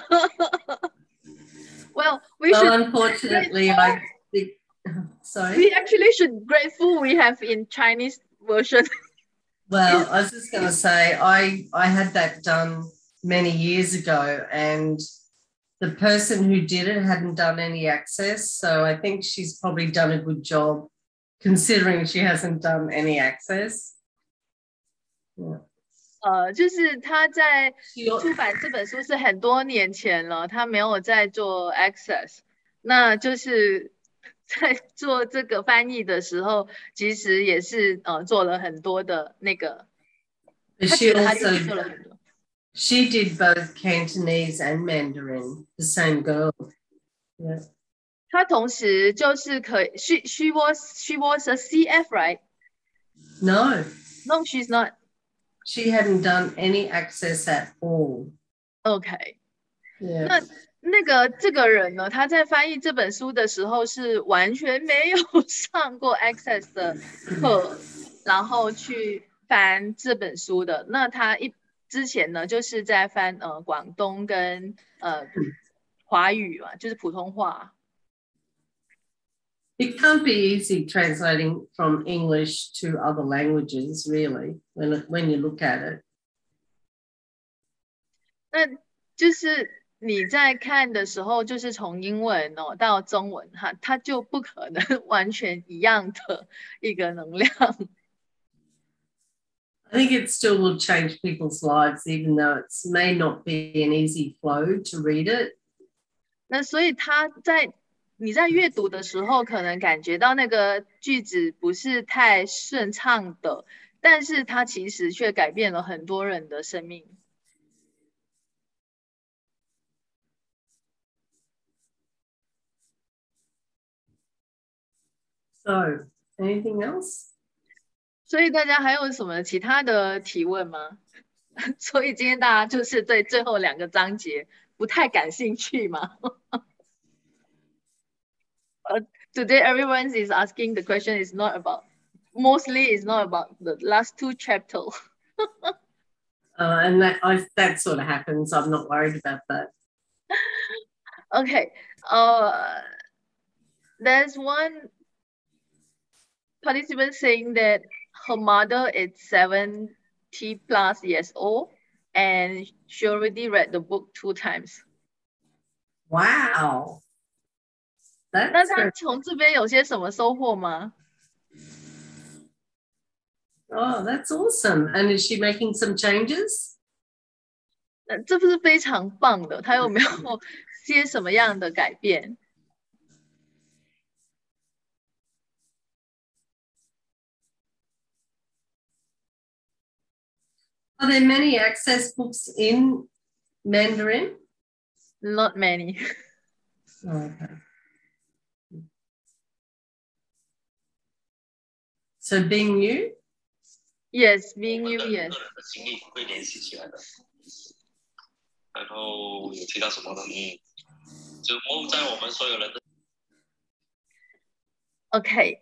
Speaker 1: Well,
Speaker 2: unfortunately, I think, sorry.
Speaker 1: We actually should grateful we have in Chinese version.
Speaker 2: Well, I was just going to say, I had that done many years ago, and the person who did it hadn't done any access. So I think she's probably done a good job considering she hasn't done any access. Yeah.
Speaker 1: 就是他在出版这本书是很多年前了，他没有在做 access， 那就是在做这个翻译的时候，其实也是做了很多的那个。
Speaker 2: She did both Cantonese and Mandarin. The same girl. Yeah.
Speaker 1: 她同时就是可以 she was a CF, right?
Speaker 2: No,
Speaker 1: she's not.
Speaker 2: She hadn't done any access at all.
Speaker 1: Okay.
Speaker 2: Yeah.
Speaker 1: 那个这个人呢，他在翻译这本书的时候是完全没有上过 access 的课，然后去翻这本书的。那他之前呢，就是在翻广东跟华语嘛，就是普通话。
Speaker 2: It can't be easy translating from English to other languages, really, when you look at it.
Speaker 1: 那就是你在看的时候，就是从英文到中文它就不可能完全一样的一个能量。
Speaker 2: I think it still will change people's lives, even though it may not be an easy flow to read it.
Speaker 1: 那所以你在阅读的时候，可能感觉到那个句子不是太顺畅的，但是它其实却改变了很多人的生命。
Speaker 2: So, anything else?
Speaker 1: 所以大家还有什么其他的提问吗？所以今天大家就是对最后2个章节不太感兴趣吗？Today everyone is asking the question is not about, mostly is not about the last 2 chapters.
Speaker 2: And that sort of happens. I'm not worried about that.
Speaker 1: Okay. There's one participant saying that her mother is 70+ years old and she already read the book 2 times.
Speaker 2: Wow.
Speaker 1: 那她从这边有些什么收获吗？
Speaker 2: Oh, that's awesome. And is she making some changes?
Speaker 1: 这不是非常棒的，她有没有些什么样的改变？
Speaker 2: Are there many access books in Mandarin?
Speaker 1: Not many.
Speaker 2: Oh, okay. So being new?
Speaker 1: Yes, being new, yes.
Speaker 3: 经历会联系起来的。然后有提到什么呢？就在我们所有人的。
Speaker 1: Okay.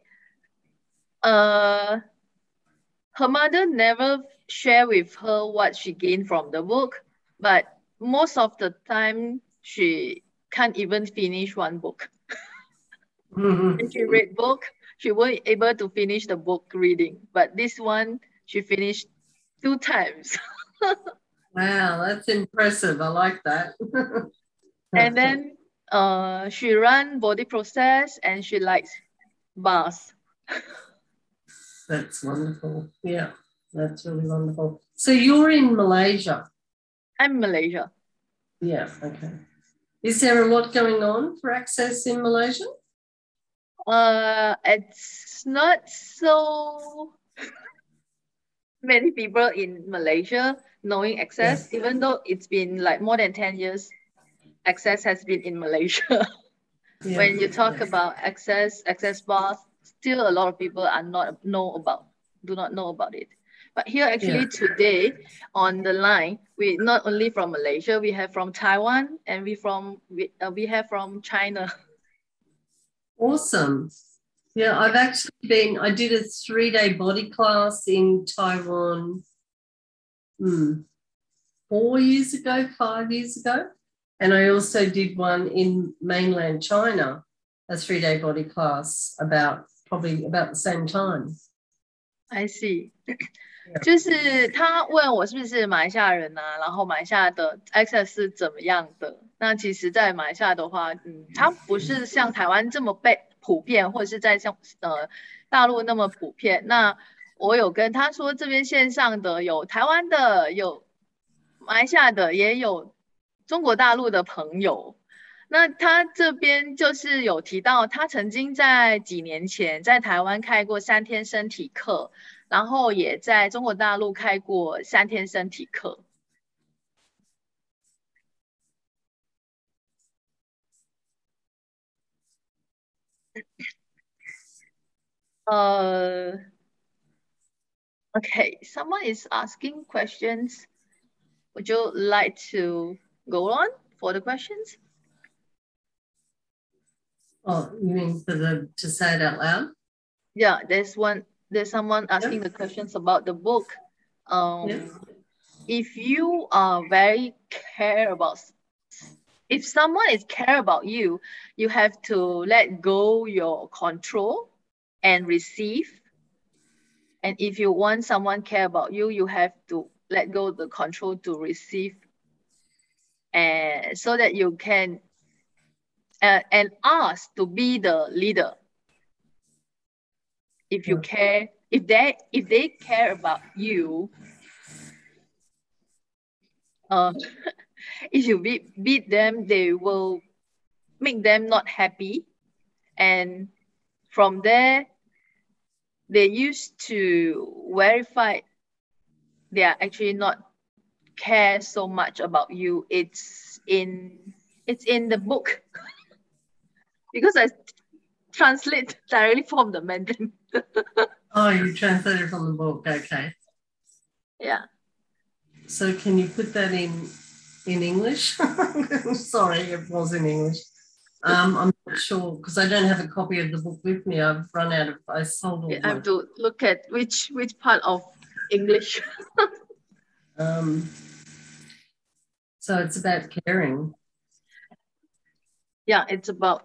Speaker 1: Her mother never shared with her what she gained from the book, but most of the time she can't even finish one book. If she read book, she won't able to finish the book reading, but this one she finished 2 times.
Speaker 2: Wow, that's impressive. I like that.
Speaker 1: And then she ran body process and she likes bars.
Speaker 2: That's wonderful. Yeah, that's really wonderful. So you're in Malaysia?
Speaker 1: I'm Malaysia.
Speaker 2: Yeah, okay. Is there a lot going on for access in Malaysia?
Speaker 1: It's not so many people in Malaysia knowing Access, even though it's been like more than 10 years, Access has been in Malaysia.
Speaker 2: Yeah.
Speaker 1: When you talk about Access bars, still a lot of people do not know about it. But here actually today on the line, we not only from Malaysia, we have from Taiwan and we have from China.
Speaker 2: Awesome. Yeah, I've actually I did a 3-day body class in Taiwan 4 years ago, 5 years ago. And I also did one in mainland China, a 3-day body class probably about the same time.
Speaker 1: I see. 就是他问我是不是马来西亚人啊，然后马来西亚的 Access 是怎么样的？那其实，在马来西亚的话，它不是像台湾这么被普遍，或者是在像大陆那么普遍。那我有跟他说，这边线上的有台湾的，有马来西亚的，也有中国大陆的朋友。那他这边就是有提到，他曾经在几年前在台湾开过3天身体课，然后也在中国大陆开过3天身体课。Okay, someone is asking questions. Would you like to go on for the questions?
Speaker 2: Oh, you mean to say it out loud?
Speaker 1: Yeah, there's someone asking the questions about the book. If you are very if someone is care about you, you have to let go your control and receive. And if you want someone care about you, you have to let go the control to receive, and so that you can and ask to be the leader. If you care, if they care about you, if you beat them, they will make them not happy, and from there they used to verify they are actually not care so much about you. It's in the book because I translate directly from the Mandarin.
Speaker 2: Oh, you translated from the book. Okay.
Speaker 1: Yeah.
Speaker 2: So can you put that in English? Sorry, it was in English. I'm not sure because I don't have a copy of the book with me. I've run out of. I sold all.
Speaker 1: I have to look at which part of English.
Speaker 2: So it's about caring.
Speaker 1: Yeah, it's about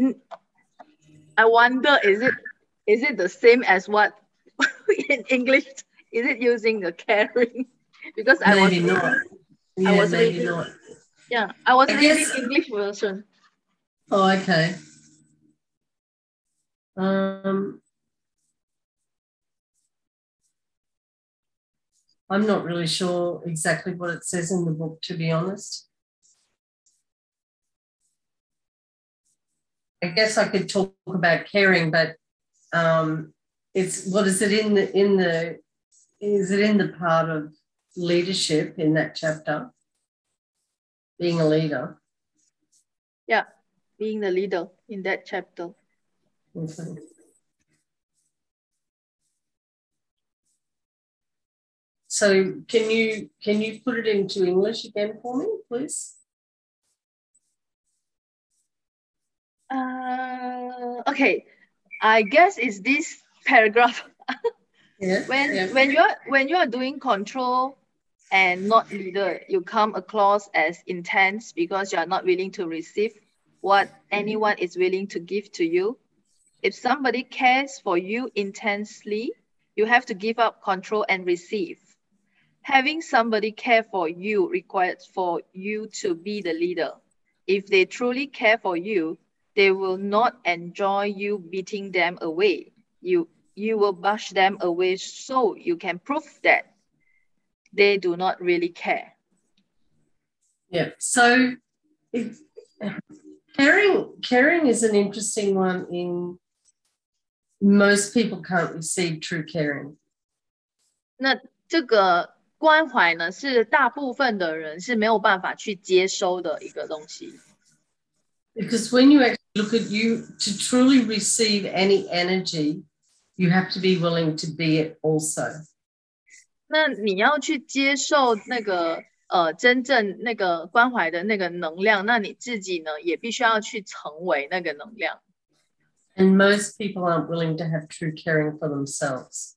Speaker 1: I wonder, is it the same as what in English? Is it using the caring? Because
Speaker 2: maybe not. Yeah,
Speaker 1: I was
Speaker 2: maybe
Speaker 1: reading,
Speaker 2: not.
Speaker 1: Yeah, I was reading English version.
Speaker 2: Oh, okay. I'm not really sure exactly what it says in the book, to be honest. I guess I could talk about caring, but is it in the part of leadership in that chapter? Being a leader.
Speaker 1: Yeah, being the leader in that chapter.
Speaker 2: Okay. So can you put it into English again for me, please?
Speaker 1: Okay, I guess it's this paragraph.
Speaker 2: Yeah.
Speaker 1: When you are doing control and not leader, you come across as intense because you are not willing to receive what anyone is willing to give to you. If somebody cares for you intensely, you have to give up control and receive. Having somebody care for you requires for you to be the leader. If they truly care for you, they will not enjoy you beating them away. You will brush them away so you can prove that they do not really care.
Speaker 2: Yeah. So caring is an interesting one. In most people can't receive true caring.
Speaker 1: 那这个关怀呢，是大部分的人是没有办法去接收的一个东西。
Speaker 2: Because when you actually look at you, to truly receive any energy, you have to be willing to be it also.
Speaker 1: 那你要去接受那个真正那个关怀的那个能量，那你自己呢也必须要去成为那个能量。
Speaker 2: And most people aren't willing to have true caring for themselves.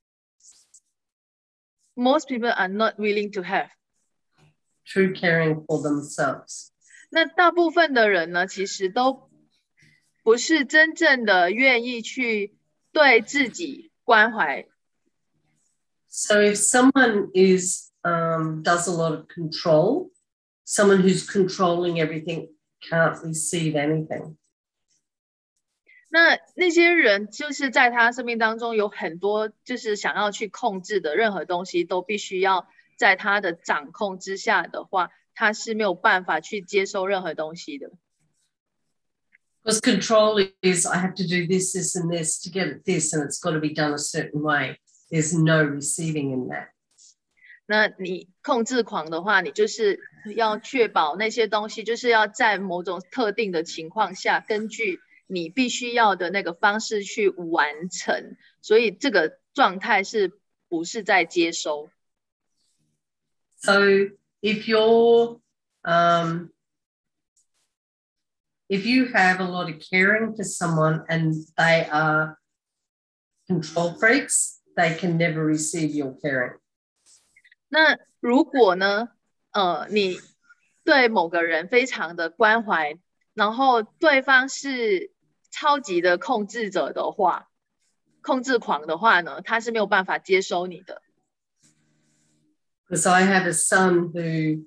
Speaker 1: Most people are not willing to have.
Speaker 2: True caring for themselves.
Speaker 1: 那大部分的人呢，其实都不是真正的愿意去对自己关怀。
Speaker 2: So if someone does a lot of control, someone who's controlling everything can't receive anything.
Speaker 1: 那些人就是在他生命当中有很多就是想要去控制的任何东西，都必须要在他的掌控之下的话，他是没有办法去接受任何东西的。
Speaker 2: Because control is, I have to do this, this, and this to get at this, and it's got to be done a certain way. There's no receiving in that.
Speaker 1: 那你控制狂的话，你就是要确保那些东西就是要在某种特定的情况下，根据你必须要的那个方式去完成，所以这个状态是不是在接收？
Speaker 2: So if you're if you have a lot of caring for someone and they are control freaks, they can never receive your caring.
Speaker 1: 那如果呢，你对某个人非常的关怀，然后对方是超级的控制者的话，控制狂的话呢，他是没有办法接收你的。
Speaker 2: Because I have a son who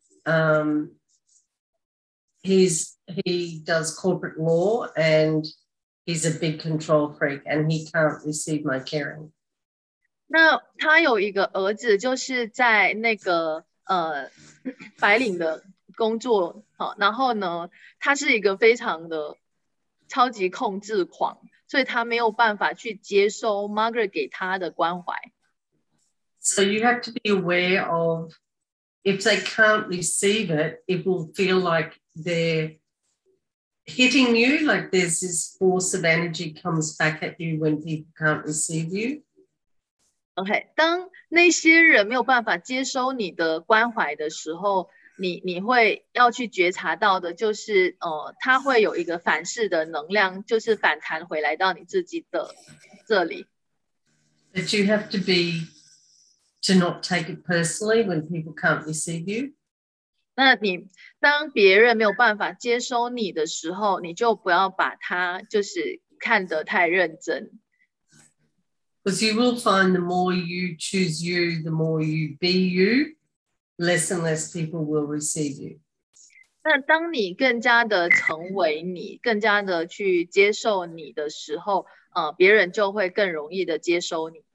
Speaker 2: he does corporate law and he's a big control freak and he can't receive my caring.
Speaker 1: 那他有一个儿子，就是在那个白领的工作，好，然后呢，他是一个非常的超级控制狂，所以他没有办法去接收 Margaret 给他的关怀。
Speaker 2: So you have to be aware of if they can't receive it, it will feel like they're hitting you, like there's this force of energy comes back at you when people can't receive you.
Speaker 1: OK， 当那些人没有办法接收你的关怀的时候，你会要去觉察到的就是，它会有一个反噬的能量，就是反弹回来到你自己的这里。
Speaker 2: But you have to be to not take it personally when people can't receive you.
Speaker 1: 那你当别人没有办法接收你的时候，你就不要把它就是看得太认真。
Speaker 2: Because you will find the more you choose you, the more you be you, less and less people will receive you.
Speaker 1: 那当你更加的成为你，更加的去接受你的时候，别人就会更容易的接收你。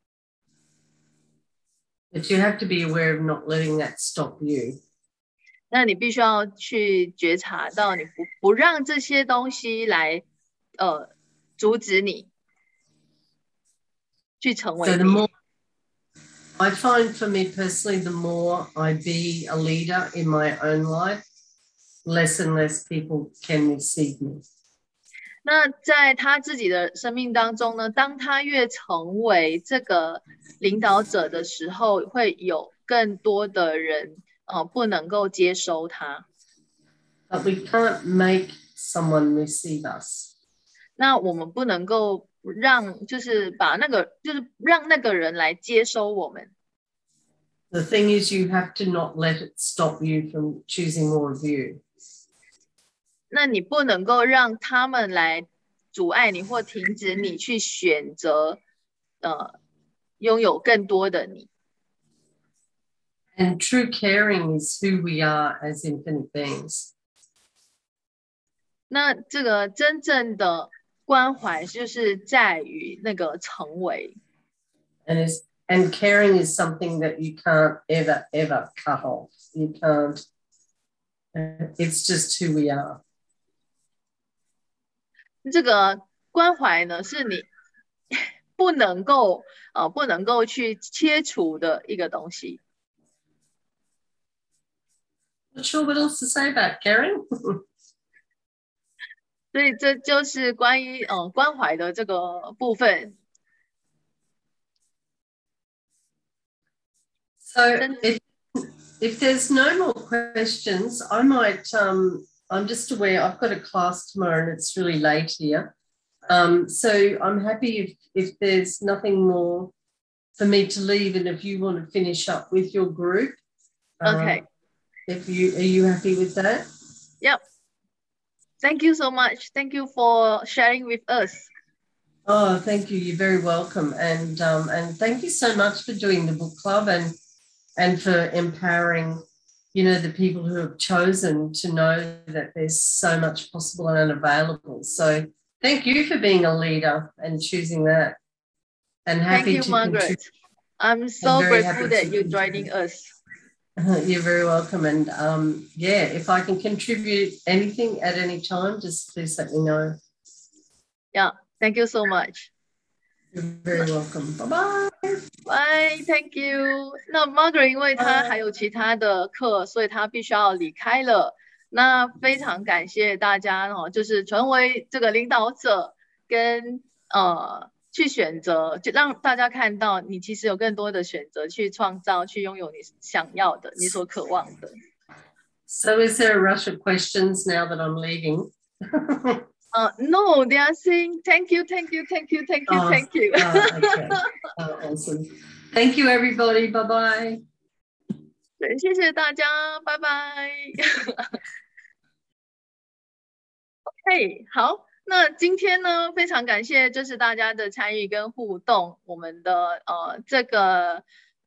Speaker 2: But you have to be aware of not letting that stop you.
Speaker 1: 那你必须要去觉察到，你不让这些东西来阻止你去成为
Speaker 2: So
Speaker 1: 你。
Speaker 2: the more I find for me personally, the more I be a leader in my own life, less and less people can receive me.
Speaker 1: 那在他自己的生命当中呢，当他越成为这个领导者的时候，会有更多的人不能够接收他。
Speaker 2: But we can't make someone receive us.
Speaker 1: 那我们不能够让，就是把那个，就是让那个人来接收我们。
Speaker 2: The thing is, you have to not let it stop you from choosing more of you.
Speaker 1: 那你不能够让他们来阻碍你或停止你去选择，拥有更多的你。
Speaker 2: And true caring is who we are as infinite beings.
Speaker 1: 那这个真正的关怀就是在于那个成为。
Speaker 2: And caring is something that you can't ever, ever cut off. You can't. It's just who we are.
Speaker 1: 这个关怀呢，是你不能够去切除的一个东西。
Speaker 2: Not sure what else to say about Karen.
Speaker 1: 所以这就是关于关怀的这个部分。
Speaker 2: So if there's no more questions, I might, I'm just aware I've got a class tomorrow and it's really late here. So I'm happy if there's nothing more for me to leave, and if you want to finish up with your group.
Speaker 1: Okay.
Speaker 2: Are you happy with that?
Speaker 1: Yep. Thank you so much. Thank you for sharing with us.
Speaker 2: Oh, thank you. You're very welcome. And thank you so much for doing the book club and for empowering, the people who have chosen to know that there's so much possible and available. So thank you for being a leader and choosing that. And happy
Speaker 1: Thank you, Margaret. I'm so grateful that you're joining us.
Speaker 2: You're very welcome. And if I can contribute anything at any time, just please let me know.
Speaker 1: Yeah, thank you so much.
Speaker 2: You're very welcome. Bye-bye.
Speaker 1: Bye, thank you. 那 Margaret 因为她还有其他的课，所以她必须要离开了。那非常感谢大家就是成为这个领导者跟去选择，就让大家看到你其实有更多的选择去创造，去拥有你想要的，你所渴望的。
Speaker 2: So is there a rush of questions now that I'm leaving?
Speaker 1: No, they are saying thank you, thank you, thank you, thank you, thank you.
Speaker 2: Okay. Awesome. Thank you, everybody. Bye-bye.
Speaker 1: 对，谢谢大家，拜拜。OK， 好。那今天呢，非常感谢就是大家的参与跟互动，我们的这个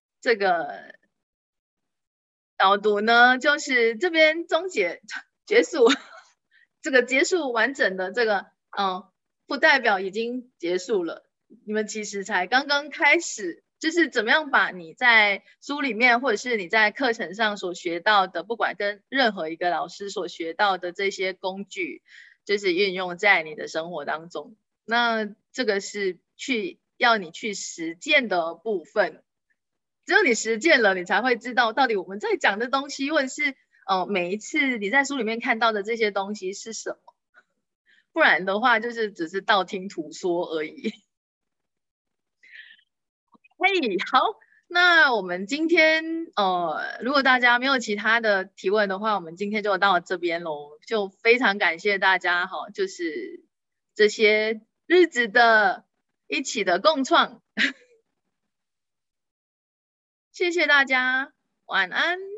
Speaker 1: 导读呢，就是这边结束，这个结束完整的这个不代表已经结束了，你们其实才刚刚开始，就是怎么样把你在书里面或者是你在课程上所学到的，不管跟任何一个老师所学到的这些工具。就是运用在你的生活当中，那这个是要你去实践的部分。只有你实践了，你才会知道到底我们在讲的东西，或者是每一次你在书里面看到的这些东西是什么。不然的话，就是只是道听途说而已。嘿，好。那我们今天如果大家没有其他的提问的话，我们今天就到这边咯。就非常感谢大家就是这些日子的一起的共创。谢谢大家，晚安。